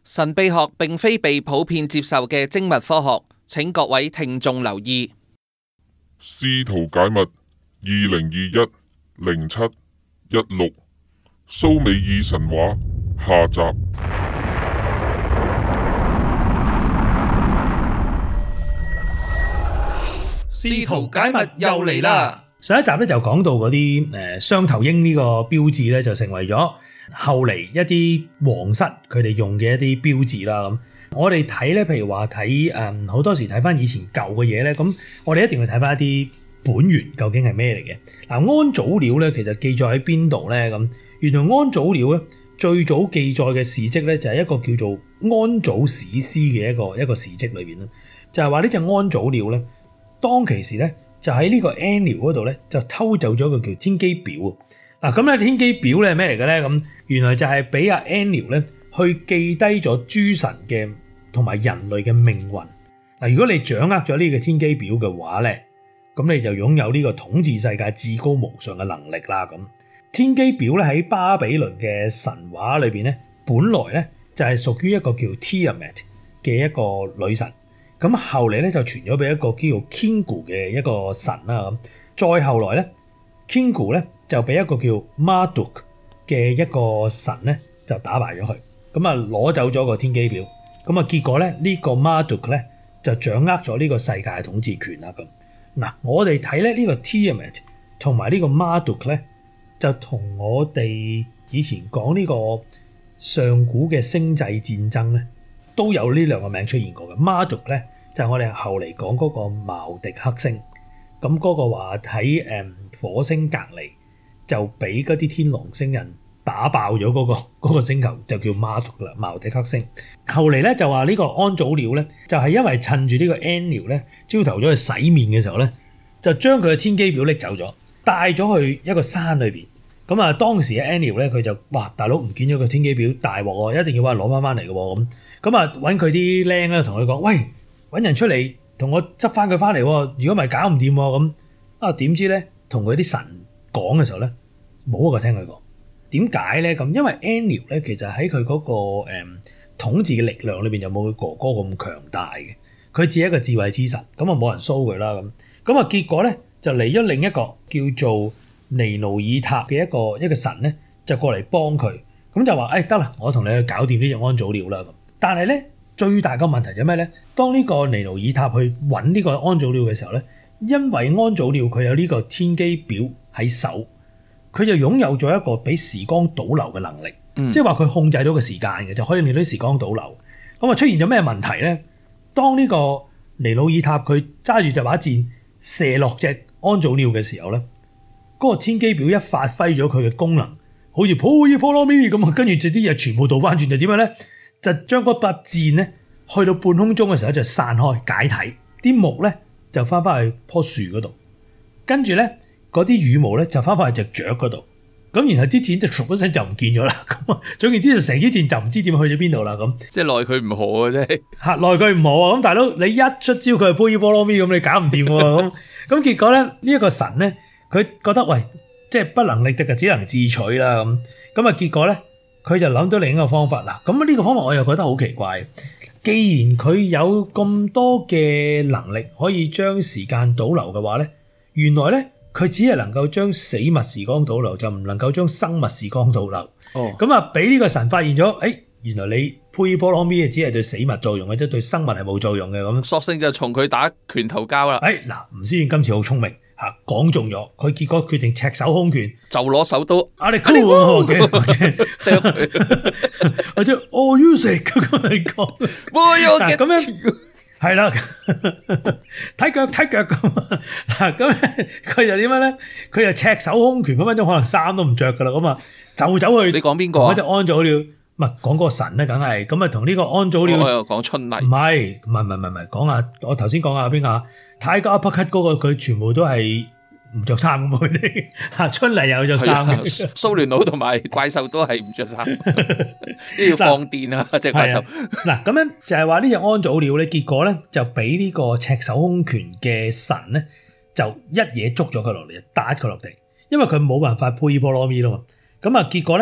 神秘學並非被普遍接受嘅精密科學，請各位聽眾留意。 試圖解密2021-07-16蘇美爾神話下集。 試圖解密又嚟啦！ 上一集咧就講到嗰啲雙頭鷹呢個標誌咧，就成為咗後嚟一啲皇室佢哋用嘅一啲標誌啦。咁我哋睇咧，譬如話睇好多時睇翻以前舊嘅嘢咧，咁我哋一定要睇翻一啲本源究竟係咩嚟嘅。嗱，安祖鳥咧其實記載喺邊度咧？咁原來安祖鳥咧最早記載嘅事蹟咧就係一個叫做安祖史詩嘅一個事蹟裏邊啦，就係話呢隻安祖鳥咧當其時咧。就喺呢個 Enlil 嗰度咧，就偷走咗個叫天機表啊！咁咧天機表咧係咩嚟嘅咧？咁原來就係俾阿 Enlil 咧去記低咗諸神嘅同埋人類嘅命運。嗱，如果你掌握咗呢個天機表嘅話咧，咁你就擁有呢個統治世界至高無上嘅能力啦。咁天機表咧喺巴比倫嘅神話裏邊咧，本來咧就係屬於一個叫 Tiamat 嘅一個女神。咁後嚟咧就傳咗俾一個叫做 Kingu 嘅一個神啦。咁再後來咧 Kingu 咧就俾一個叫 Marduk 嘅一個神咧就打敗咗佢，咁啊攞走咗個天機表。咁啊結果咧呢個 Marduk 咧就掌握咗呢個世界嘅統治權啦。咁嗱，我哋睇咧呢個 Tiamat 同埋呢個 Marduk 咧就同我哋以前講呢個上古嘅星際戰爭咧都有呢兩個名出現過嘅。Marduk 咧就係我哋後嚟講嗰個茅迪克星，咁嗰個話喺火星隔離就俾嗰啲天狼星人打爆咗嗰個星球，就叫 Marduk 啦，茅迪克星。後嚟咧就話呢個安祖鳥咧就係因為趁住呢個 Enlil 咧朝頭早去洗面嘅時候咧，就將佢嘅天機表拎走咗，帶咗去一個山裏邊。咁啊當時嘅 Enlil咧佢就哇大佬唔見咗個天機表，大鑊喎，一定要話攞翻嚟嘅喎。咁啊揾佢啲僆咧同佢講，喂，揾人出嚟同我執翻佢翻嚟，如果唔係搞唔掂咁。啊點知咧同佢啲神講嘅時候咧，冇一個聽佢講。點解咧？咁因為 Enlil 咧其實喺佢嗰個統治嘅力量裏邊就冇佢哥哥咁強大嘅，佢只係一個智慧之神，咁啊冇人蘇佢啦。咁啊結果咧就嚟咗另一個叫做尼努爾塔嘅一個神咧，就過嚟幫佢，咁就話得啦，我同你去搞掂呢隻安祖鳥啦。咁但係咧最大個問題就係咩咧？當呢個尼努爾塔去揾呢個安祖鳥嘅時候咧，因為安祖鳥佢有呢個天機表喺手，佢就擁有咗一個俾時光倒流嘅能力，即係話佢控制到個時間嘅，就可以令到啲時光倒流。咁啊出現咗咩問題咧？當呢個尼努爾塔佢揸住隻把箭射落隻安祖鳥嘅時候咧，嗰個天機表一發揮咗佢嘅功能，好似破衣破羅咪咁啊，跟住就啲嘢全部倒翻轉，就點樣咧？就將嗰把箭咧去到半空中嘅時候就散開解體，啲木咧就翻去棵樹嗰度，跟住咧嗰啲羽毛咧就翻去隻雀嗰度，咁然後啲箭就唰一聲就唔見咗啦。咁啊，總言之就成支箭就唔知點去咗邊度啦。咁即係奈佢唔何啊！真係嚇奈佢唔何啊！咁大佬你一出招佢係破衣破羅咪咁，你搞唔掂喎。咁結果咧呢一個神咧，佢覺得喂，即係不能力敵嘅，只能自取啦。咁啊結果咧佢就諗到另一個方法啦。咁呢個方法我又覺得好奇怪。既然佢有咁多嘅能力可以將時間倒流嘅話咧，原來咧佢只係能夠將死物時光倒流，就唔能夠將生物時光倒流。咁啊俾呢個神發現咗，原來你佩波羅咪只係對死物作用嘅，即係對生物係冇作用嘅。咁索性就同佢打拳頭交啦。 嗱，吳思遠今次好聰明嚇，講中咗，佢結果決定赤手空拳， 就攞手刀。 你酷嘅，或者you 食咁嚟講，咁樣係啦，睇腳咁嗱，咁佢就點樣咧？佢就赤手空拳咁樣，可能衫都唔着噶啦，咁啊就走去。 你講邊個啊？ 嗰隻安祖鳥，唔係講嗰個神咧，梗係咁啊，同呢個安祖鳥。 我又講春麗。唔係，講下我頭先講下邊個泰戈阿匹克嗰個，佢全部都係唔着衫咁佢哋嚇，春麗又着衫嘅， 蘇聯佬同埋怪獸都係唔着衫，要放電啊隻怪獸。 嗱咁樣就係話呢隻安祖鳥咧，結果咧就俾呢個赤手空拳嘅神咧，就一嘢捉咗佢落嚟，打佢落地，因為佢冇辦法配波羅咪啦嘛。咁啊結果咧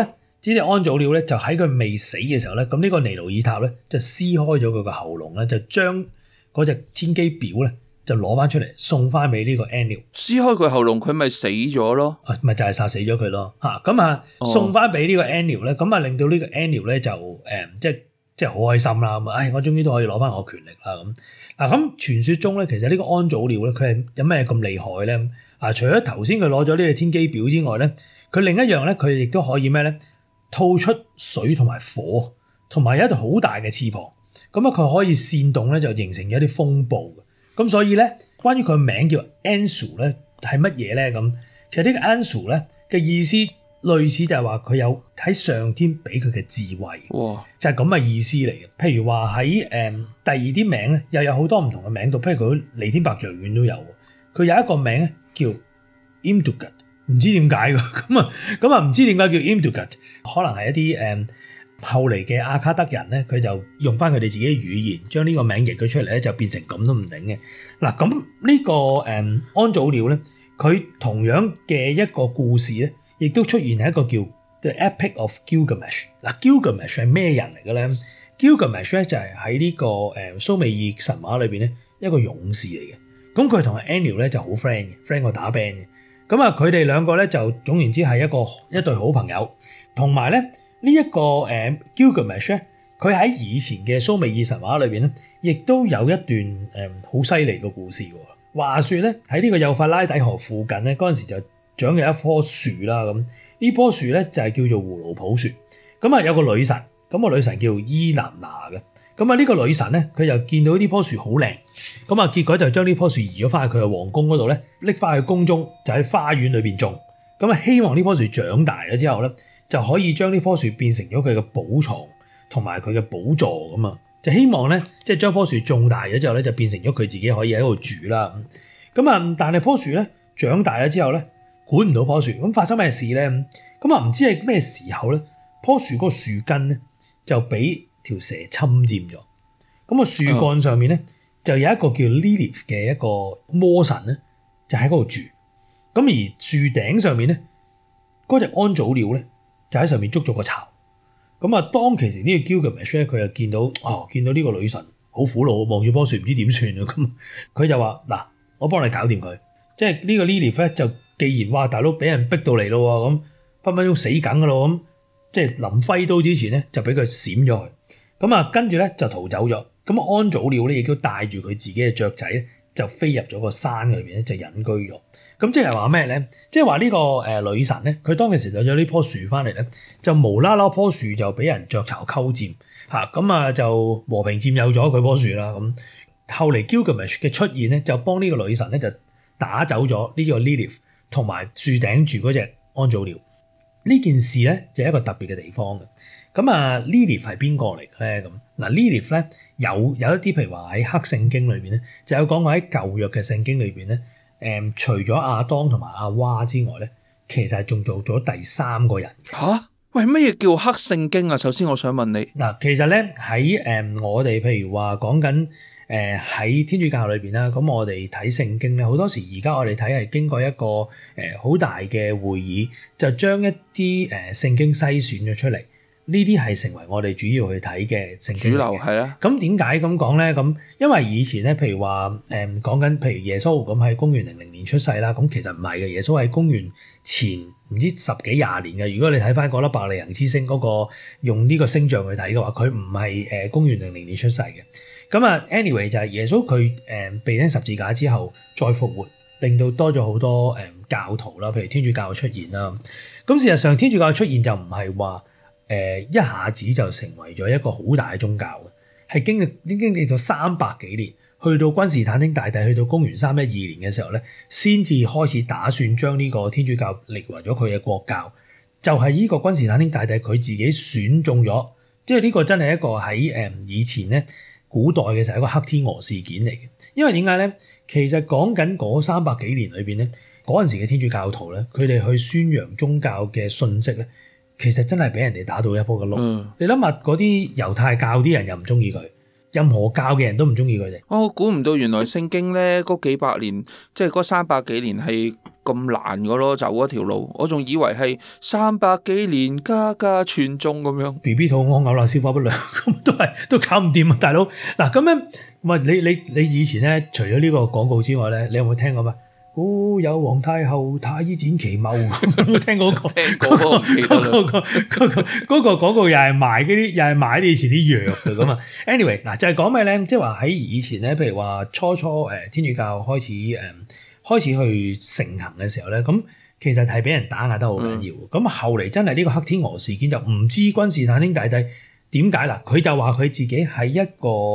呢隻安祖鳥咧就喺佢未死嘅時候咧，咁呢個尼努爾塔咧就撕開咗佢個喉嚨咧，就將嗰隻天機表咧就攞翻出嚟送翻俾呢個 Enlil。 撕開佢喉嚨，佢咪死咗咯？ 咪就係殺死咗佢咯嚇。咁送翻俾呢個 Enlil 咧，咁令到呢個 Enlil 咧就即係好開心啦。咁我終於都可以攞翻我權力啦咁。咁傳說中咧，其實呢個安祖鳥咧，佢係有咩咁厲害咧？除咗頭先佢攞咗呢個天機表之外咧，佢另一樣咧，佢亦都可以咩咧？吐出水同埋火，同埋有一對好大嘅翅膀。咁佢可以煽動咧，就形成一啲風暴嘅。咁所以咧，關於佢名叫 Anzu 咧，係乜嘢咧？咁其實呢個 Anzu 咧嘅意思類似就係話佢有喺上天俾佢嘅智慧， 哇！ 就係咁嘅意思嚟嘅。譬如話喺第二啲名咧，又有好多唔同嘅名度，譬如佢彌天白象丸都有，佢有一個名咧叫 Imdugat， 唔知點解㗎。咁唔知點解叫 Imdugat， 可能係一啲後嚟嘅阿卡德人咧，佢就用翻佢哋自己嘅語言，將呢個名譯咗出嚟咧，就變成咁都唔定嘅。嗱，咁呢個安祖鳥咧，佢同樣嘅一個故事咧，亦都出現喺一個叫 The Epic of Gilgamesh。嗱，Gilgamesh 係咩人嚟嘅咧？Gilgamesh 咧就係喺呢個蘇美爾神話裏邊咧一個勇士嚟嘅。咁佢同 Enlil 咧就好 friend 過打 band 嘅。咁佢哋兩個咧就總言之係一對好朋友。同埋咧呢一個Gilgamesh 咧，佢喺以前嘅蘇美爾神話裏邊咧，亦都有一段好犀利嘅故事喎。話說咧喺呢個幼發拉底河附近咧，嗰陣時就長嘅一棵樹啦。咁呢棵樹咧就係叫做葫蘆抱樹。咁有個女神，咁個女神叫伊南娜嘅。咁呢個女神咧，佢就見到呢棵樹好靚，咁結果就將呢棵樹移咗翻去佢嘅皇宮嗰度咧，拎翻去宮中，就喺花園裏邊種。咁希望呢棵樹長大咗之後咧，就可以將呢棵樹變成咗佢嘅寶藏同埋佢嘅寶座咁啊！就希望咧，即係將棵樹種大咗之後咧，就變成咗佢自己可以喺度住啦。但係棵樹咧長大咗之後咧，管唔到棵樹，咁發生咩事咧？唔知係咩時候咧，棵樹嗰個樹根咧就俾條蛇侵佔咗。咁樹幹上面咧就有一個叫 Lilith 嘅一個魔神咧，就喺嗰度住。咁而樹頂上面咧，嗰隻安祖鳥咧就喺上面築咗個巢。當其時呢個 Gilgamesh 咧，佢就見到呢個女神好苦惱，望住棵樹唔知點算啊。咁佢就話：嗱，我幫你搞掂佢。即係呢個 Lilith 咧，就既然話大佬俾人逼到嚟咯，咁分分鐘死梗噶咯，咁即係臨揮刀之前咧，就俾佢閃咗佢。跟住咧就逃走咗。安祖鳥咧亦都帶住佢自己嘅雀仔咧，就飛入咗個山裏邊咧，就隱居咗。即係話咩咧？即係話呢個女神咧，佢當其時就有呢棵樹翻嚟咧，就無啦啦棵樹就俾人雀巢鳩佔嚇，就和平佔有咗佢棵樹啦。後嚟 Gilgamesh 嘅出現咧，就幫呢個女神咧就打走咗呢個 Lilith 同埋樹頂住嗰隻安祖鳥。呢件事咧就係一個特別嘅地方嘅。Lilith 係邊個嚟嘅咧？Lilith 咧有一啲譬如話喺黑聖經裏邊咧，就有講過喺舊約嘅聖經裏邊咧，除咗亞當同埋阿娃之外咧，其實係仲做咗第三個人嘅。 嚇？喂，乜嘢叫黑聖經啊？首先我想問你。 其實咧喺我哋譬如話講緊喺天主教裏邊啦，咁我哋睇聖經咧，好多時而家我哋睇係經過一個好大嘅會議，就將一啲聖經篩選咗出嚟。呢啲係成為我哋主要去睇嘅聖經。主流係啦。咁點解咁講咧？咁因為以前咧，譬如話講緊，譬如耶穌咁喺公元00年出世啦，咁其實唔係嘅，耶穌喺公元前唔知10幾20年嘅。如果你睇翻嗰粒伯利恆之星嗰個用呢個星象去睇嘅話，佢唔係公元00年出世嘅。anyway 就係耶穌佢被釘十字架之後再復活，令到多咗好多教徒啦，譬如天主教嘅出現啦。咁事實上天主教嘅出現就唔係話一下子就成為咗一個好大嘅宗教嘅，係經歷咗300幾年，去到君士坦丁大帝去到公元312年嘅時候咧，先至開始打算將呢個天主教列為咗佢嘅國教。就係呢個君士坦丁大帝佢自己選中咗，即係呢個真係一個喺以前咧古代嘅時候一個黑天鵝事件嚟嘅。因為點解咧？其實講緊嗰300幾年裏邊咧，嗰陣時嘅天主教徒咧，佢哋去宣揚宗教嘅信息咧，其實真係俾人哋打到一鋪嘅碌。你諗下嗰啲猶太教啲人又唔中意佢，任何教嘅人都唔中意佢哋。 我估唔到原來聖經咧嗰幾百年，即係嗰300幾年係咁難嘅咯，走嗰條路，我仲以為係300幾年家家傳宗咁樣。 BB 肚屙嘔啦，消化不良咁都搞唔掂啊，大佬。嗱咁樣，喂你以前咧，除咗呢個廣告之外咧，你有冇聽過咩？哦，有皇太后太醫展奇謀，有冇聽過嗰個廣告又係賣啲以前啲藥嘅咁啊。anyway 嗱就係講咩咧？即係話喺以前咧，譬如話初天主教開始去盛行嘅時候咧，咁其實係俾人打壓得好緊要。咁後嚟真係呢個黑天鵝事件就唔知君士坦丁大帝點解啦？佢就話佢自己喺一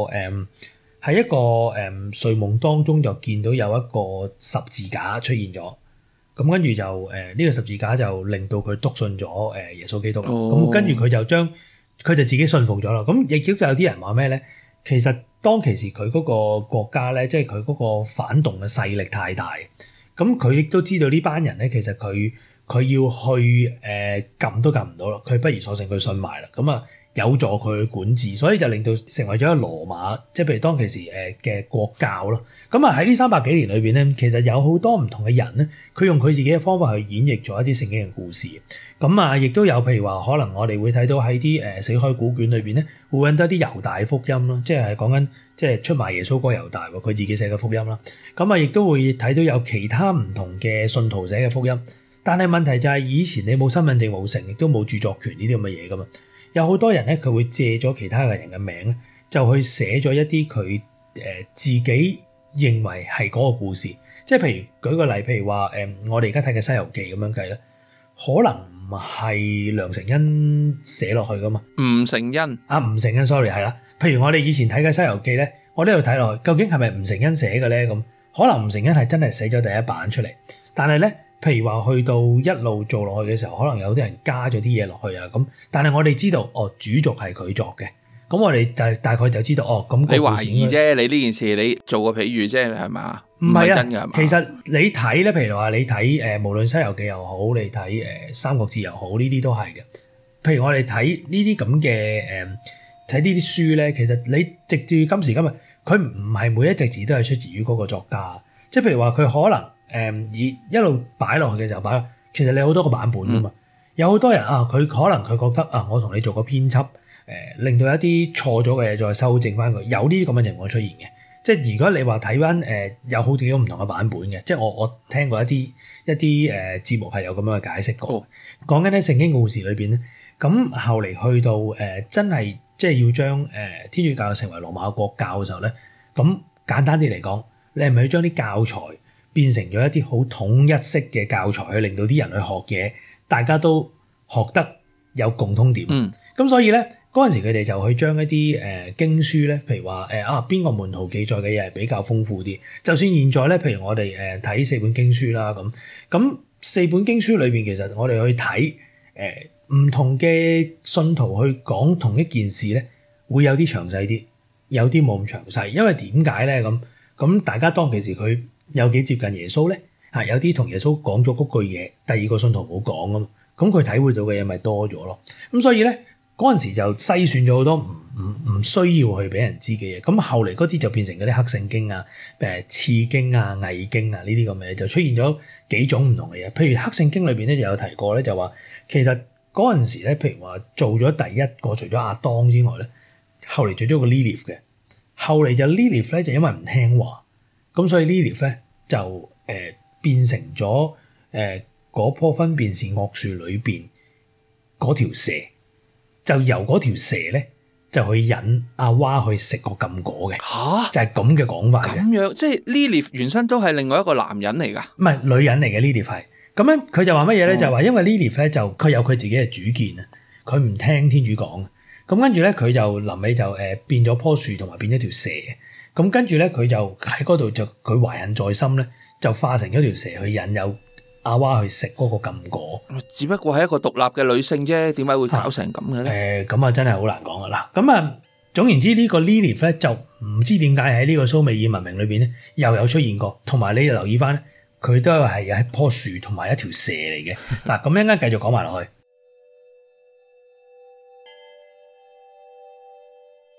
個睡夢當中就見到有一個十字架出現咗，咁跟住就呢個十字架就令到佢篤信咗耶穌基督啦。咁跟住佢就自己信服咗啦。咁亦都有啲人話咩咧？其實當其時佢嗰個國家咧，即係佢嗰個反動嘅勢力太大，咁佢亦都知道呢班人咧，其實佢要去撳都撳唔到啦，佢不如索性佢信埋啦。咁啊〜有助佢去管治，所以就令到成為咗一個羅馬，即係譬如當其時嘅國教咯。咁啊喺呢300幾年裏邊咧，其實有好多唔同嘅人咧，佢用佢自己嘅方法去演繹咗一啲聖經嘅故事。咁啊，亦都有譬如話，可能我哋會睇到喺啲死海古卷裏邊咧，會揾到一啲猶大福音咯，即係講緊即係出賣耶穌嗰個猶大喎，佢自己寫嘅福音啦。咁啊，亦都會睇到有其他唔同嘅信徒寫嘅福音。但係問題就係以前你冇身份證冇成，亦都冇著作權呢啲咁嘅嘢噶嘛。有好多人咧，佢會借咗其他嘅人嘅名咧，就去寫咗一啲佢自己認為係嗰個故事。即係譬如舉個例，譬如話我哋而家睇嘅《西遊記》咁樣計咧，可能唔係梁承恩寫落去噶嘛。吳承恩 sorry 係啦。譬如我哋以前睇嘅《西遊記》咧，我呢度睇落去，究竟係咪吳承恩寫嘅咧？咁可能吳承恩係真係寫咗第一版出嚟，但係咧。譬如話去到一路做落去嘅時候，可能有啲人加咗啲嘢落去啊咁，但係我哋知道主軸係佢作嘅，咁我哋就大概就知道咁。你懷疑啫，你呢件事你做個譬喻啫，係嘛？ 唔係啊， 真㗎係嘛？ 其實你睇咧，譬如話你睇無論《西遊記》又好，你睇《三國志》又好，呢啲都係嘅。譬如我哋睇呢啲咁嘅睇呢啲書咧，其實你直至今時今日，佢唔係每一隻字都係出自於嗰個作家，即係譬如話佢可能。一路擺落去嘅時候擺，其實你好多個版本㗎嘛。有好多人佢可能佢覺得我同你做個編輯，令到一啲錯咗嘅嘢再修正翻佢，有呢啲咁嘅情況出現嘅。即係如果你話睇翻有好幾種唔同嘅版本嘅，即係我聽過一啲節目係有咁樣嘅解釋過。講緊喺聖經故事裏邊咧，咁後嚟去到真係即係要將天主教成為羅馬國教嘅時候咧，咁簡單啲嚟講，你係咪要將啲教材變成咗一啲好統一式嘅教材，去令到啲人去學嘢，大家都學得有共通點。咁所以咧，嗰陣時佢哋就去將一啲經書咧，譬如話邊個門徒記載嘅嘢係比較豐富啲。就算現在咧，譬如我哋睇4本經書啦，咁4本經書裏邊，其實我哋去睇唔同嘅信徒去講同一件事咧，會有啲詳細啲，有啲冇咁詳細。因為點解咧？咁大家當其時佢有幾接近耶穌咧？有啲同耶穌講咗嗰句嘢，第二個信徒冇講啊嘛，咁佢體會到嘅嘢咪多咗咯。咁所以咧，嗰陣時就篩選咗好多唔需要去俾人知嘅嘢。咁後嚟嗰啲就變成嗰啲黑聖經啊、次經啊、偽經啊呢啲咁嘅嘢，就出現咗幾種唔同嘅嘢。譬如黑聖經裏邊咧就有提過咧，就話其實嗰陣時咧，譬如話做咗第一個除咗亞當之外咧，後嚟做咗個 Lilith 嘅，後嚟就 Lilith 咧就因為唔聽話。咁所以 Lilith 咧就變成咗嗰棵分辨善惡樹裏邊嗰條蛇，就由嗰條蛇咧就去引阿娃去食個禁果嘅。就係咁嘅講法嘅。咁樣即係 Lilith 原身都係另外一個男人嚟㗎？ 唔係女人嚟嘅 Lilith 係。咁樣佢就話乜嘢咧？就係話因為 Lilith 咧就佢有佢自己嘅主見啊，佢唔聽天主講。咁跟住咧佢就臨尾就變咗棵樹同埋變咗條蛇。咁跟住咧，佢就喺嗰度就佢懷恨在心咧，就化成咗條蛇去引誘阿娃去食嗰個禁果。 只不過係一個獨立嘅女性啫，點解會搞成咁嘅咧？ 咁啊真係好難講啊！嗱，咁啊總言之呢個 Lilith 咧就唔知點解喺呢個蘇美爾文明裏邊咧又有出現過，同埋你留意翻咧，佢都係有一棵樹同埋一條蛇嚟嘅。嗱，咁一陣間繼續講埋落去。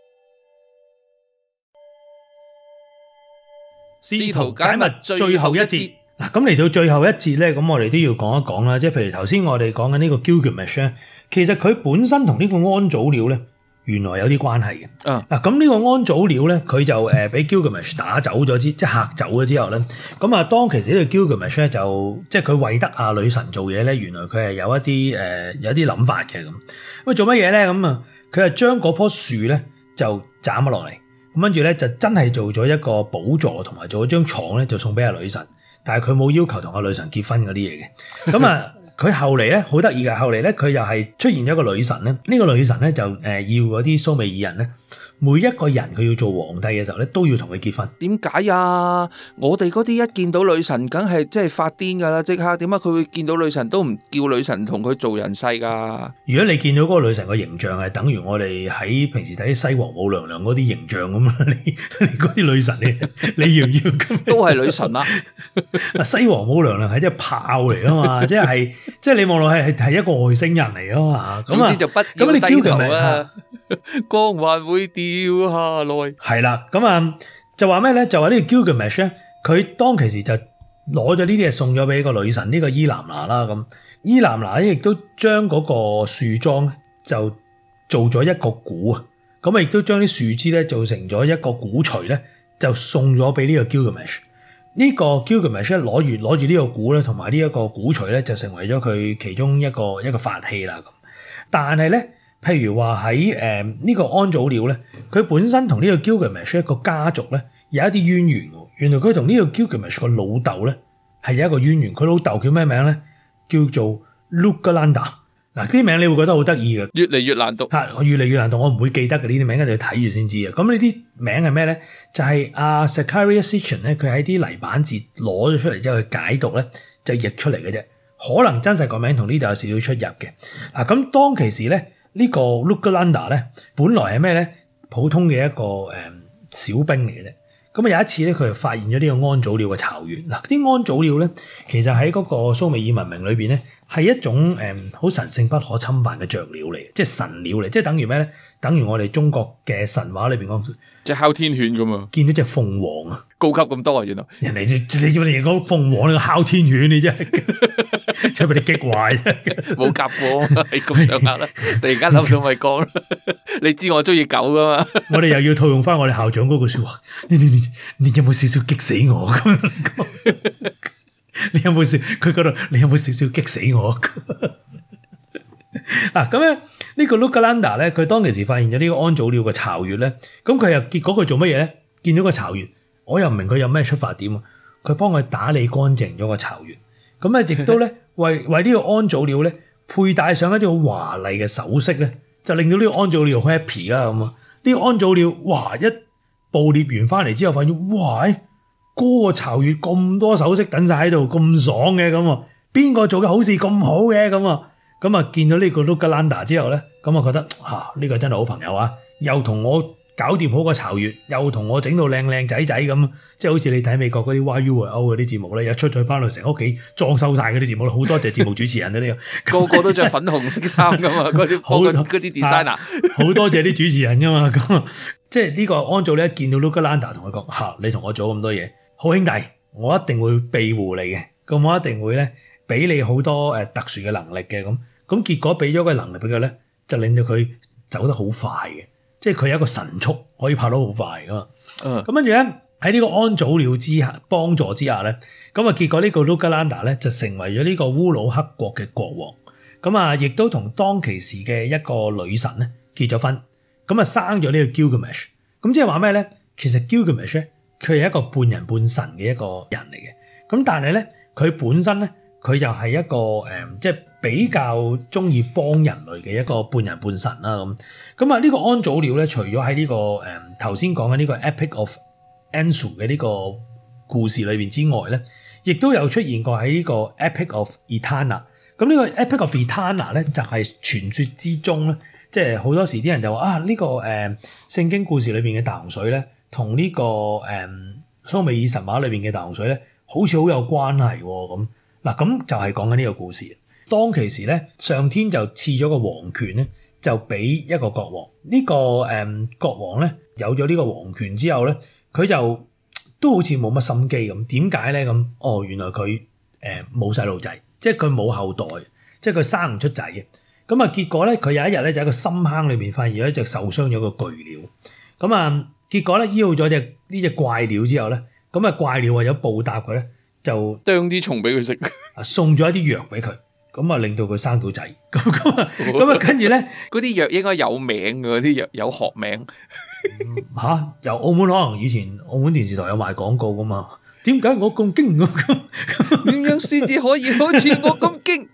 試圖解密最後一節。 嗱，咁嚟到最後一節咧，咁我哋都要講一講啦。即係譬如頭先我哋講緊呢個 Gilgamesh 咧，其實佢本身同呢個安祖鳥咧，原來有啲關係嘅。嗱，咁呢個安祖鳥咧，佢就俾 Gilgamesh 打走咗即係嚇走咗之後咧，咁啊當其時呢個 Gilgamesh 咧就即係佢為得啊女神做嘢咧，原來佢係有一啲有啲諗法嘅咁。咁做乜嘢咧？咁啊，佢係將嗰棵樹咧就斬咗落嚟，咁跟住咧就真係做咗一個寶座同埋做咗張床咧，就送俾阿女神。但係佢冇要求同阿女神結婚嗰啲嘢嘅。咁啊，佢後嚟咧好得意嘅，後嚟咧佢又係出現咗一個女神咧。呢個女神咧就要嗰啲蘇美爾人咧，每一個人佢要做皇帝嘅時候咧，都要同佢結婚。 點解啊？我哋嗰啲一見到女神，梗係即係發癲噶啦！即刻點解佢會見到女神都唔叫女神同佢做人世噶？ 如果你見到嗰個女神個形象係等於我哋喺平時睇西王母娘娘嗰啲形象咁啊，你嗰啲女神你要唔要？ 都係女神啊！ 西王母娘娘係隻炮嚟啊嘛，即係你望落係一個外星人嚟啊嘛。 總之就不要低頭啦，光環會掉下來。 係啦，咁啊就話咩咧？就話呢個 Gilgamesh 咧，佢當其時就攞咗呢啲嘢送咗俾個女神呢個伊南娜啦。咁伊南娜亦都將嗰個樹樁就做咗一個鼓啊，咁啊亦都將啲樹枝咧做成咗一個鼓槌咧，就送咗俾呢個 Gilgamesh。呢個 Gilgamesh 攞住呢個鼓咧，同埋呢一個鼓槌咧，就成為咗佢其中一個法器啦。咁但係咧，譬如話喺呢個安祖鳥咧，佢本身同呢個 Gilgamesh 一個家族咧有一啲淵源喎。原來佢同呢個 Gilgamesh 個老豆咧係有一個淵源。佢老豆叫咩名咧？叫做 Lugalanda。嗱，啲名你會覺得好得意嘅， 越嚟越難讀。 越嚟越難讀，我唔會記得嘅呢啲名，一定要睇住先知啊。咁呢啲名係咩咧？就係阿 Zecharia Sitchin 咧，佢喺啲泥板字攞咗出嚟之後去解讀咧，就譯出嚟嘅啫。可能真實個名同呢度有少少出入嘅。嗱，咁當其時咧，呢個 Lugalanda 咧，本來係咩咧？普通嘅一個小兵嚟嘅啫。咁啊有一次咧，佢就發現咗呢個安祖鳥嘅巢穴。嗱，啲安祖鳥咧，其實喺嗰個蘇美爾文明裏邊咧，係一種好神聖不可侵犯嘅雀鳥嚟，即係神鳥嚟，即係等於咩咧？等於我哋中國嘅神話裏邊講， 即係哮天犬咁啊！ 見到隻鳳凰啊， 高級咁多啊！原來人哋你要嚟講鳳凰，你個哮天犬你真係，真係俾你激壞啫！ 冇夾過，係咁上下啦。突然間諗到咪講啦，你知我中意狗噶嘛？ 我哋又要套用翻我哋校長嗰句說話，你有冇少少激死我咁？你有冇少？佢覺得你有冇少少激死我？咁樣呢個 Lugalanda 咧，佢當其時發現咗呢個安祖鳥嘅巢穴咧，咁佢又結果佢做乜嘢咧？見到個巢穴，我又唔明佢有咩出發點啊？佢幫佢打理乾淨咗個巢穴，咁啊亦都咧為呢個安祖鳥咧佩戴上一啲好華麗嘅首飾咧，就令到呢個安祖鳥好 happy 啦咁啊！呢個安祖鳥哇一捕獵完翻嚟之後，發現哇嗰個巢穴咁多首飾等晒喺度，咁爽嘅咁啊！邊個做嘅好事咁好嘅咁啊？咁啊，見到呢個 Lugalanda 之後咧，咁啊覺得呢個真係好朋友啊！又同我搞掂好個巢穴，又同我整到靚靚仔仔咁，即係好似你睇美國嗰啲 YUO 嗰啲節目咧，一出咗翻去成屋企裝修晒嗰啲節目，好多謝節目主持人呢個個都着粉紅色衫噶嘛，嗰啲 designer， 好多謝啲主持人噶嘛，咁即係呢個安祖咧，見到 Lugalanda 同佢講你同我做咁多嘢，好兄弟，我一定會庇護你嘅，咁我一定會咧俾你好多特殊嘅能力嘅咁結果俾咗個能力俾佢咧，就令到佢走得好快嘅，即係佢有一個神速可以跑得好快噶嘛。咁跟住咧喺呢個安祖鳥之下幫助之下咧，咁啊結果呢個 Lugalanda 咧就成為咗呢個烏魯克國嘅國王。咁啊亦都同當其時嘅一個女神咧結咗婚，咁啊生咗呢個 Gilgamesh。咁即係話咩咧？其實 Gilgamesh 咧佢係一個半人半神嘅一個人嚟嘅。咁但係咧佢本身咧佢就係一個即係比較中意幫人類嘅一個半人半神啦咁啊呢個安祖鳥咧，除咗喺呢個頭先講嘅呢個 Epic of Enlil 嘅呢個故事裏邊之外咧，亦都有出現過喺呢個 Epic of Etana。咁呢個 Epic of Etana 咧就係傳說之中咧，即係好多時啲人就話呢個聖經故事裏邊嘅大洪水咧，同呢個蘇美爾神話裏邊嘅大洪水咧，好似好有關係咁。嗱，咁就係講緊呢個故事。當其時咧，上天就賜咗個皇權咧，就俾一個國王。呢個國王咧有咗呢個皇權之後咧，佢就都好似冇乜心機咁。點解咧咁？哦，原來佢冇細路仔，即係佢冇後代，即係佢生唔出仔嘅。咁啊，結果咧，佢有一日咧就喺個深坑裏邊發現咗一隻受傷咗嘅巨鳥。咁啊，結果咧醫好咗呢隻怪鳥之後咧，咁啊怪鳥為咗報答佢咧，就啄啲蟲俾佢食， 送咗一啲藥俾佢，咁啊令到佢生到仔。咁啊，跟住咧， 嗰啲藥應該有名嘅，嗰啲藥有學名。 嚇，由澳門可能以前澳門電視台有賣廣告噶嘛？點解我咁勁咁？ 點樣先至可以好似我咁勁？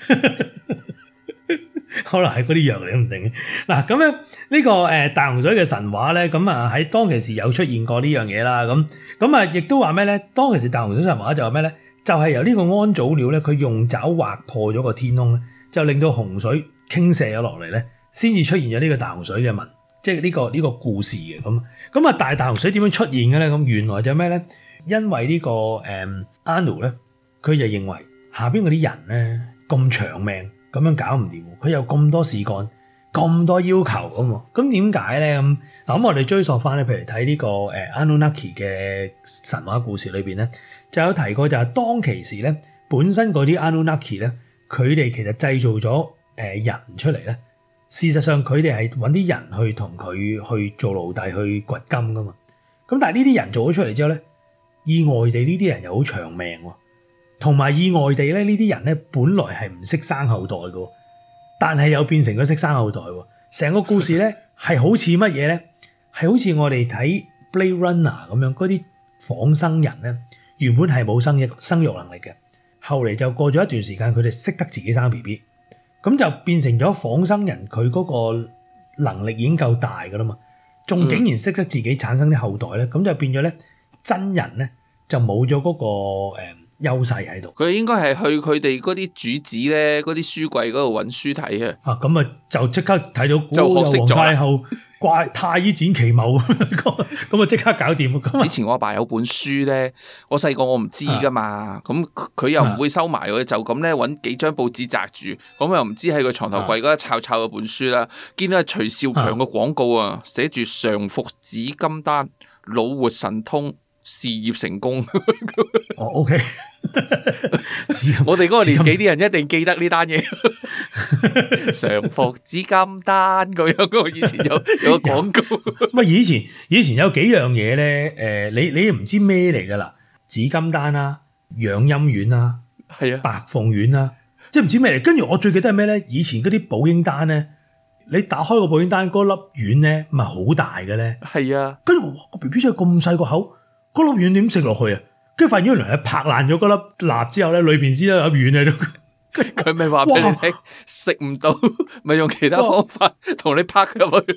可能係嗰啲藥嚟都唔定。嗱，咁樣呢個大洪水嘅神話咧，咁啊喺當其時有出現過呢樣嘢啦。咁啊，亦都話咩咧？當其時大洪水神話就話咩咧？就係由呢個安祖鳥咧，佢用爪劃破咗個天空咧，就令到洪水傾瀉咗落嚟咧，先至出現咗呢個大洪水嘅文，即係呢個故事嘅咁。咁啊，大洪水點樣出現嘅咧？咁原來就咩咧？因為呢個阿努咧，佢就認為下邊嗰啲人咧咁長命。咁樣搞唔掂，佢有咁多事幹，咁多要求咁點解咧？咁我哋追溯翻咧，譬如睇呢個Anunnaki 嘅神話故事裏邊咧，就有提過就係當其時咧，本身嗰啲 Anunnaki 咧，佢哋其實製造咗人出嚟咧，事實上佢哋係揾啲人去同佢去做奴隸去掘金噶嘛。咁但係呢啲人做咗出嚟之後咧，意外地呢啲人又好長命喎。同埋意外地咧，呢啲人咧本來係唔識生後代嘅，但係又變成咗識生後代喎。成個故事咧係好似乜嘢咧？係好似我哋睇 Blade Runner 咁樣，嗰啲仿生人咧原本係冇生育能力嘅，後嚟就過咗一段時間，佢哋識得自己生 BB， 咁就變成咗仿生人，佢嗰個能力已經夠大㗎啦嘛，仲竟然識得自己產生啲後代咧，咁就變咗咧真人咧就冇咗嗰個優勢喺度， 佢應該係去佢哋嗰啲主子咧，嗰啲書櫃嗰度揾書睇啊！ 咁啊就即刻睇到就學識咗皇太后太醫展奇謀，咁啊即刻搞掂。 以前我阿爸有本書咧，我細個我唔知噶嘛，咁佢又唔會收埋佢，就咁咧揾幾張報紙紮住，咁又唔知喺個床頭櫃嗰度抄嗰本書啦，見到係徐少強嘅廣告啊，寫住常服紫金丹，腦活神通。事業成功哦，OK 我哋嗰個年紀啲人一定記得呢單嘢，常服紫金丹咁樣。我以前有個廣告。 乜以前有幾樣嘢咧？你唔知咩嚟噶啦？紫金丹啦，養陰丸啦，係啊，白鳳丸啦，即係唔知咩嚟。跟住我最記得係咩咧？以前嗰啲保嬰丹咧，你打開個保嬰丹嗰粒丸咧，咪好大嘅咧。係啊，跟住我個 BB 真係咁細個口。嗰粒丸點食落去啊？跟住發現原來係拍爛咗嗰粒蠟之後咧，裏邊先有粒丸喺度。佢咪話俾你聽食唔到，咪用其他方法同你拍入去。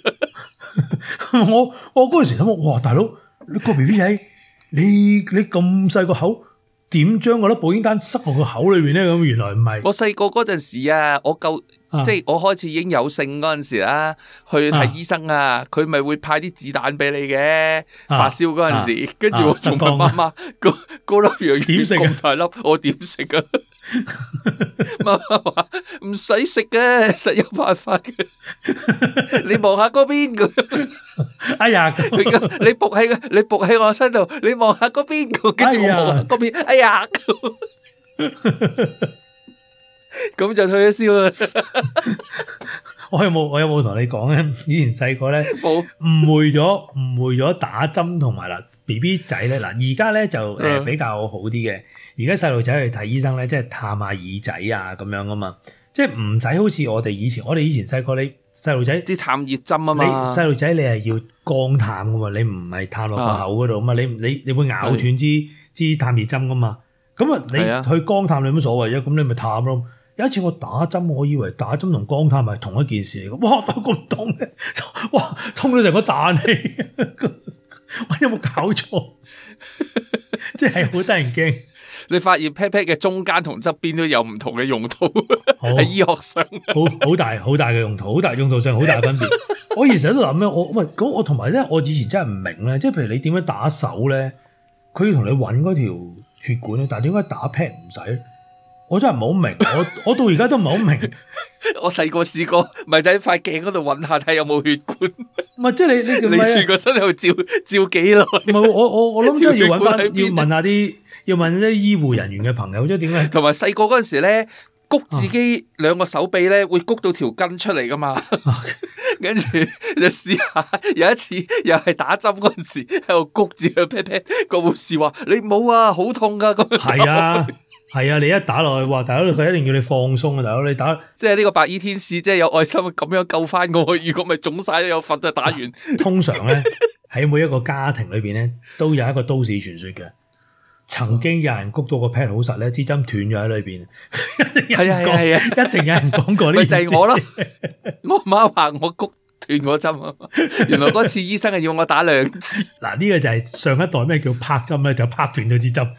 我嗰陣時諗，哇！大佬，你個 BB 仔，你咁細個口，點將嗰粒保嬰丹塞落個口裏邊咧？咁原來唔係。我細個嗰陣時啊，即係我開始已經有性嗰陣時啦，去睇醫生啊，佢咪會派啲子彈俾你嘅，發燒嗰陣時，跟住我仲問媽媽，嗰粒藥點食咁大粒，我點食啊？媽媽話唔使食嘅，實有辦法嘅。你望下嗰邊㗎，哎呀，你伏喺我身度，你望下嗰邊，跟住我望下嗰邊，哎呀。咁就退咗燒啦！我有冇同你講咧？以前細個咧，誤會咗打針同埋BB 仔咧，而家咧就比較好啲嘅。而家細路仔去睇醫生咧，即係探下耳仔啊咁樣啊嘛，即係唔使好似我哋以前細個，你細路仔即係探熱針啊嘛。你細路仔你係要肛探噶嘛，你唔係探落個口嗰度啊嘛，你會咬斷支探熱針噶嘛。咁啊，你去肛探你冇所謂啫，咁你咪探咯。有一次我打針，我以為打針同肛探係同一件事嚟嘅，哇！都咁痛嘅，哇！痛到成個彈氣，我有冇搞錯？即係好得人驚。你發現 pat pat 嘅中間同側邊都有唔同嘅用途，喺醫學上，好大嘅用途，好大用途上好大分別。我以前喺度諗咧，我同埋咧，我以前真係唔明咧，即係譬如你點樣打手咧，佢要同你揾嗰條血管咧，但係點解打 pat 唔使咧？ 我真係唔好明，我到而家都唔係好明。 我細個試過，咪就喺塊鏡嗰度揾下睇有冇血管。 唔係即係你全個身喺度照幾耐？ 唔係我諗真係要揾翻，要問啲醫護人員嘅朋友，即係點解？ 同埋細個嗰陣時咧，谷自己兩個手臂咧，會谷到條筋出嚟噶嘛。跟住就試下，有一次又係打針嗰陣時喺度谷住個 pat pat，個護士話：你冇啊，好痛噶咁樣。 係啊，你一打落去，哇！大佬佢一定要你放鬆啊，大佬你打。 即係呢個白衣天使，即係有愛心咁樣救翻我。如果咪腫晒都有份就打完。 通常咧喺每一個家庭裏邊咧，都有一個都市傳說嘅。曾經有人谷到個 pat 好實咧，支針斷咗喺裏邊。係啊，一定有人講過呢。 咪就係我咯。我媽話我谷斷嗰針啊，原來嗰次醫生係要我打2支。 嗱，呢個就係上一代咩叫拍針咧，就拍斷咗支針。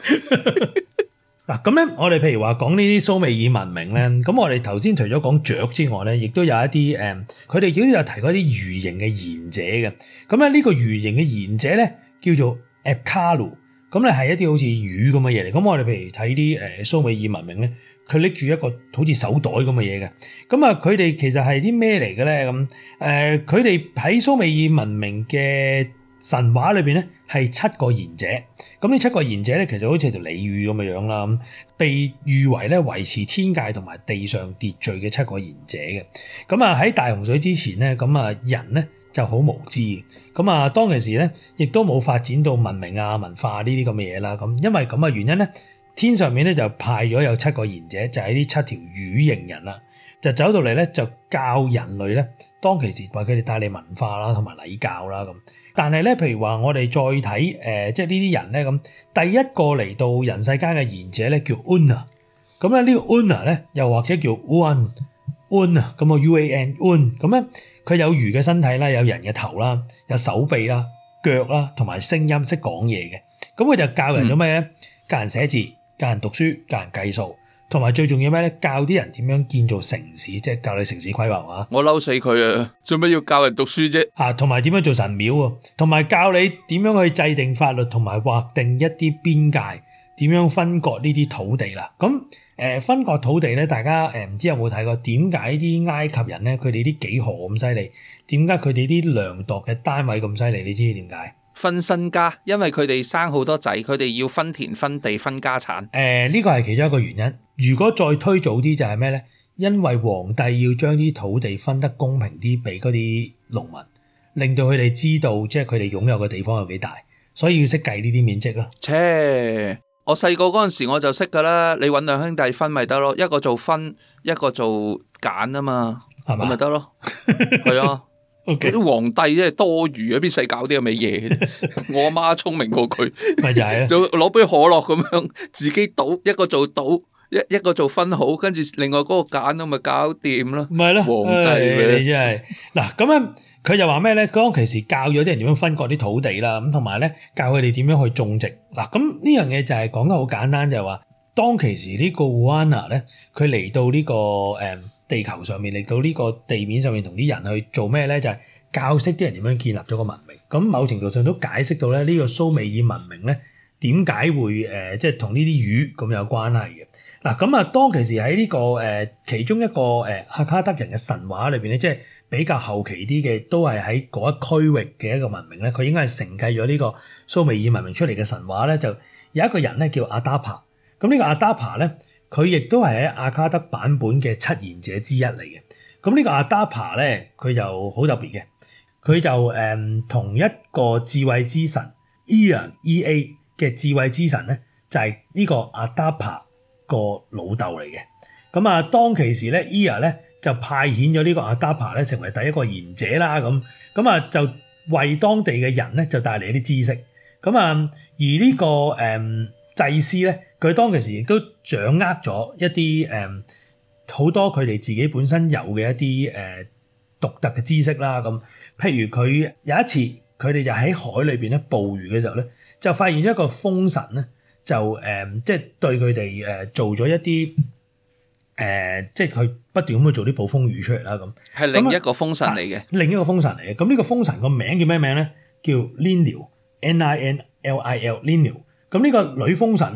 嗱，咁咧，我哋譬如話講呢啲蘇美爾文明咧，咁我哋頭先除咗講雀之外咧，亦都有一啲佢哋亦都有提過一啲魚形嘅賢者嘅。咁咧呢個魚形嘅賢者咧叫做 Apkallu， 咁咧係一啲好似魚咁嘅嘢嚟。咁我哋譬如睇啲蘇美爾文明咧，佢拎住一個好似手袋咁嘅嘢嘅。咁啊，佢哋其實係啲咩嚟嘅咧？咁佢哋喺蘇美爾文明嘅神話裏邊咧，係7個賢者。咁呢7個賢者咧，其實好似條鯉魚咁嘅樣啦，被譽為咧維持天界同埋地上秩序嘅7個賢者嘅。咁啊喺大洪水之前咧，咁啊人咧就好無知嘅。咁啊當其時咧，亦都冇發展到文明啊文化呢啲咁嘅嘢啦。咁因為咁嘅原因咧，天上面咧就派咗有7個賢者，就係呢7條魚形人啦，就走到嚟咧就教人類咧，當其時為佢哋帶嚟文化啦同埋禮教啦咁。但係咧，譬如話我哋再睇即係呢啲人咧咁，第一個嚟到人世間嘅賢者咧叫 Una， 咁咧呢個 Una 咧又或者叫 Uan 啊，咁啊 UAN， 咁咧佢有魚嘅身體啦，有人嘅頭啦，有手臂啦、腳啦，同埋聲音識講嘢嘅。咁佢就教人咗咩咧？教人寫字，教人讀書，教人計數。同埋最重要咩咧？教啲人點樣建造城市，即係教你城市規劃啊！ 我嬲死佢啊！做咩要教人讀書啫？ 同埋點樣做神廟啊？同埋教你點樣去制定法律，同埋劃定一啲邊界，點樣分割呢啲土地啦？咁分割土地咧，大家唔知有冇睇過？點解啲埃及人咧，佢哋啲幾何咁犀利？點解佢哋啲量度嘅單位咁犀利？你知唔知點解？ 分身家，因為佢哋生好多仔，佢哋要分田分地分家產。 呢個係其中一個原因。如果再推早啲就係咩咧？因為皇帝要將啲土地分得公平啲俾嗰啲農民，令到佢哋知道即係佢哋擁有嘅地方有幾大，所以要識計呢啲面積咯。 我細個嗰陣時我就識噶啦，你搵2兄弟分咪得咯，一個做分，一個做揀啊嘛，係咪得咯？係啊。啲皇帝真係多餘啊！邊使搞啲咁嘅嘢？我阿媽聰明過佢， 咪就係就攞杯可樂咁樣自己倒，一個做倒，一個做分好，跟住另外嗰個揀咁咪搞掂咯。 咪咯， 皇帝你真係嗱咁樣，佢就話咩咧？當其時教咗啲人點樣分割啲土地啦，咁同埋咧教佢哋點樣去種植嗱。咁呢樣嘢就係講得好簡單，就係話當其時呢個 Uana 咧，佢嚟到呢個地球上面，嚟到呢個地面上面同啲人去做咩咧？就係教識啲人點樣建立咗個文明。咁某程度上都解釋到咧呢個蘇美爾文明咧點解會即係同呢啲魚咁有關係嘅。嗱咁啊，當其時喺呢個其中一個阿卡德人嘅神話裏邊咧，即係比較後期啲嘅，都係喺嗰一區域嘅一個文明咧，佢應該係承繼咗呢個蘇美爾文明出嚟嘅神話咧，就有一個人咧叫阿達帕。咁呢個阿達帕咧，佢亦都係喺阿卡德版本嘅7賢者之一嚟嘅。咁呢個阿達帕咧，佢就好特別嘅，佢就同一個智慧之神 Ea 嘅智慧之神咧，就係呢個阿達帕個老豆嚟嘅。咁啊，當其時咧 Ea 咧就派遣咗呢個阿達帕咧成為第一個賢者啦。咁啊就為當地嘅人咧就帶嚟一啲知識。咁啊而呢個祭司咧，佢當其時亦都掌握咗一啲好多佢哋自己本身有嘅一啲獨特嘅知識啦。咁譬如佢有一次佢哋就喺海裏邊咧捕魚嘅時候咧，就發現一個風神咧就即係對佢哋做咗一啲即係佢不斷咁去做啲捕風魚出嚟啦。咁係另一個風神嚟嘅， 另一個風神嚟嘅。咁呢個風神個名叫咩名咧？叫 Ninlil，Ninlil。咁呢個女風神咧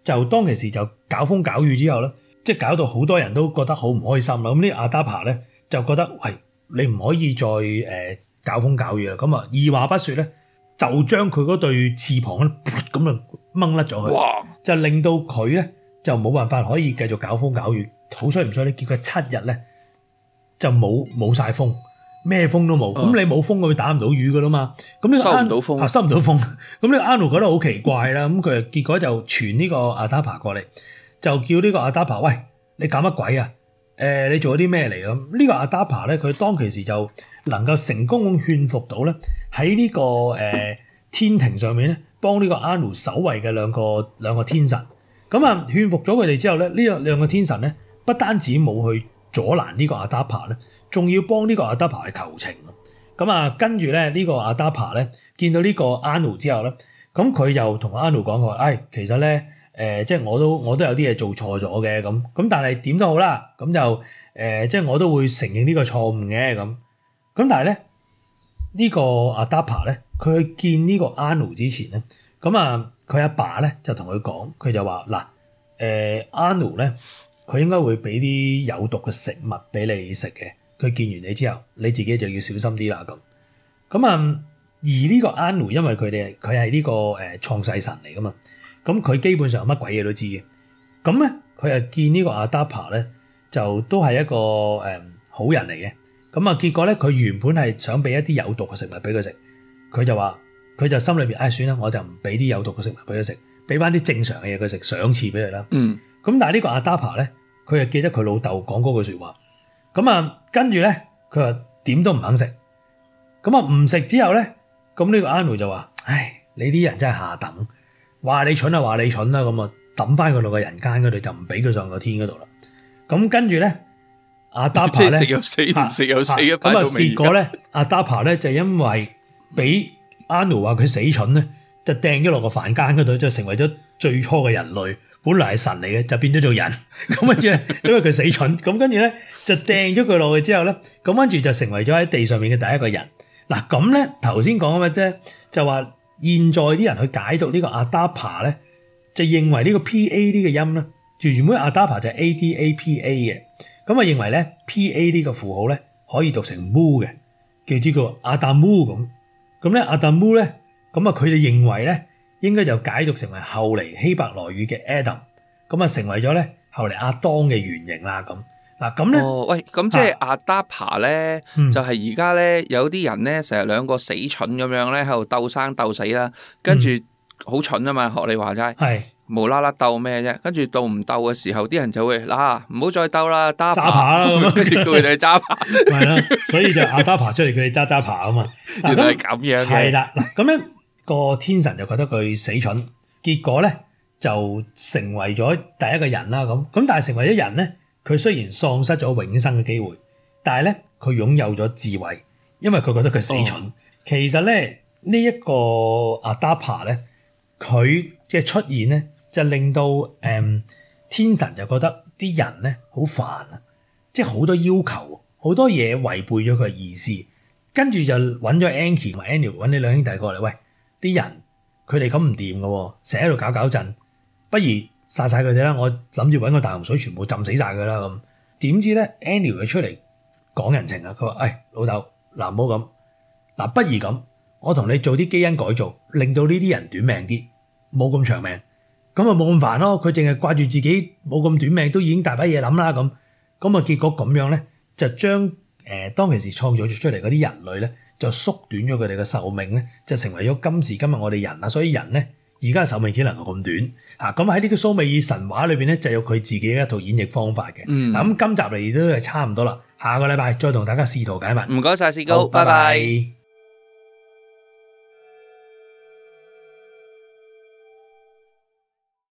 就當其時就搞風搞雨之後咧，即係搞到好多人都覺得好唔開心啦。咁呢阿達帕咧就覺得喂，你唔可以再搞風搞雨啦。咁啊二話不說咧，就將佢嗰對翅膀咧咁啊掹甩咗佢， 哇！ 就令到佢咧就冇辦法可以繼續搞風搞雨。好衰唔衰咧？結果7日咧就冇晒風。咩風都冇，咁你冇風，佢打唔到魚噶啦嘛。咁呢個收唔到風， 收唔到風。咁呢個阿奴覺得好奇怪啦。咁佢結果就傳呢個阿達帕過嚟，就叫呢個阿達帕，喂，你搞乜鬼啊？你做咗啲咩嚟咁？呢個阿達帕咧，佢當其時就能夠成功咁勸服到咧，喺呢個天庭上面咧，幫呢個阿奴守衛嘅兩個天神。咁啊，勸服咗佢哋之後咧，呢兩個天神咧，不單止冇去阻攔呢個阿達帕咧，仲要幫呢個阿達帕去求情。咁啊，跟住咧呢個阿達帕咧見到呢個阿奴之後咧，咁佢又同阿奴講過，其實咧即係我都有啲嘢做錯咗嘅咁，但係點都好啦，咁就即係我都會承認呢個錯誤嘅咁。咁但係咧呢個阿達帕咧，佢去見呢個阿奴之前咧，咁啊佢阿爸咧就同佢講，佢就話嗱阿奴咧，佢應該會俾啲有毒嘅食物俾你食嘅。佢見完你之後，你自己就要小心啲啦咁。咁啊，而呢個阿奴因為佢係呢個創世神嚟噶嘛，咁佢基本上乜鬼嘢都知嘅。咁咧，佢又見呢個阿達帕咧，就都係一個好人嚟嘅。咁啊，結果咧，佢原本係想俾一啲有毒嘅食物俾佢食，佢就話佢就心裏邊算啦，我就唔俾啲有毒嘅食物俾佢食，俾翻啲正常嘅嘢佢食，賞賜俾佢啦。咁但係呢個阿達帕咧，佢又記得佢老豆講嗰句說話。咁啊，跟住咧，佢話點都唔肯食。咁啊，唔食之後咧，咁呢個阿奴就話：你啲人真係下等，話你蠢就話你蠢啦。咁啊，抌翻佢落個人間嗰度，就唔俾佢上個天嗰度啦。咁跟住咧，阿達帕咧， 即係食又死，唔食又死嘅。 咁啊，結果咧，阿達帕咧就因為俾阿奴話佢死蠢咧，就掟咗落個凡間嗰度，就成為咗最初嘅人類。本來係神嚟嘅，就變咗做人。咁跟住咧，因為佢死蠢，咁跟住咧就掟咗佢落去之後咧，咁跟住就成為咗喺地上面嘅第一個人。嗱咁咧，頭先講嘅啫，就話現在啲人去解讀呢個阿達帕咧，就認為呢個 PA 呢個音咧，原本阿達帕就係 ADAPA 嘅，咁啊認為咧 PA 呢個符號咧可以讀成 mu 嘅，叫呢個阿達姆咁。咁咧阿達姆咧，咁啊佢哋認為咧，應該就解讀成為後嚟希伯來語嘅 Adam， 咁啊成為咗咧後嚟亞當嘅原型啦咁。嗱咁咧， 喂，咁即係阿達帕咧，就係而家咧有啲人咧成日兩個死蠢咁樣咧喺度鬥生鬥死啦，跟住好蠢啊嘛，學你話齋，係無啦啦鬥咩啫？跟住鬥唔鬥嘅時候，啲人就會嗱唔好再鬥啦，揸扒啦咁，跟住叫佢哋揸扒， 係啦，所以就阿達帕出嚟，佢哋揸扒啊嘛。 原來係咁樣嘅， 係啦，嗱咁咧。個天神就覺得佢死蠢，結果咧就成為咗第一個人啦咁。但係成為咗人咧，佢雖然喪失咗永生嘅機會，但係咧佢擁有咗智慧，因為佢覺得佢死蠢。其實咧呢一個阿達帕咧，佢嘅出現咧就令到天神就覺得啲人咧好煩啊，即係好多要求，好多嘢違背咗佢嘅意思，跟住就揾咗 Anki 同埋 Anu 揾你兩兄弟過嚟，喂。啲人佢哋咁唔掂嘅，成日喺度搞震，不如殺晒佢哋啦！我諗住揾個大洪水全部浸死晒佢啦咁。點知咧 Anu 佢出嚟講人情啊！佢話：老豆，嗱唔好咁，嗱不如咁，我同你做啲基因改造，令到呢啲人短命啲，冇咁長命，咁啊冇咁煩咯。佢淨係掛住自己冇咁短命，都已經大把嘢諗啦咁。咁啊結果咁樣咧，就將當其時創造出嚟嗰啲人類咧。就縮短咗佢哋嘅壽命咧，就成為咗今時今日我哋人啦。所以人咧而家嘅壽命只能夠咁短嚇。咁喺呢個蘇美爾神話裏邊咧，就有佢自己嘅一套演繹方法嘅。嗱咁今集嚟都係差唔多啦，下個禮拜再同大家試圖解密。 唔該晒，士高，拜拜。